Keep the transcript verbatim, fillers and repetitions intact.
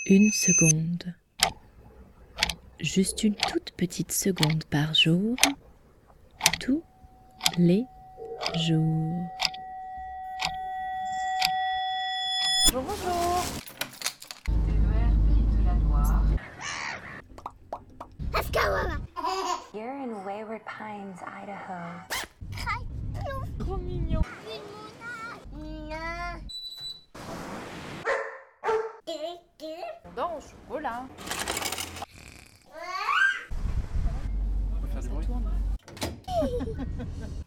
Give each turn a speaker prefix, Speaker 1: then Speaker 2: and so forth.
Speaker 1: Une seconde. Juste une toute petite seconde par jour, tous les jours.
Speaker 2: Bonjour, bonjour.
Speaker 3: You're in Wayward Pines, Idaho.
Speaker 2: Trop mignon. On dort au chocolat.
Speaker 4: On peut faire du bruit.
Speaker 2: Ça tourne.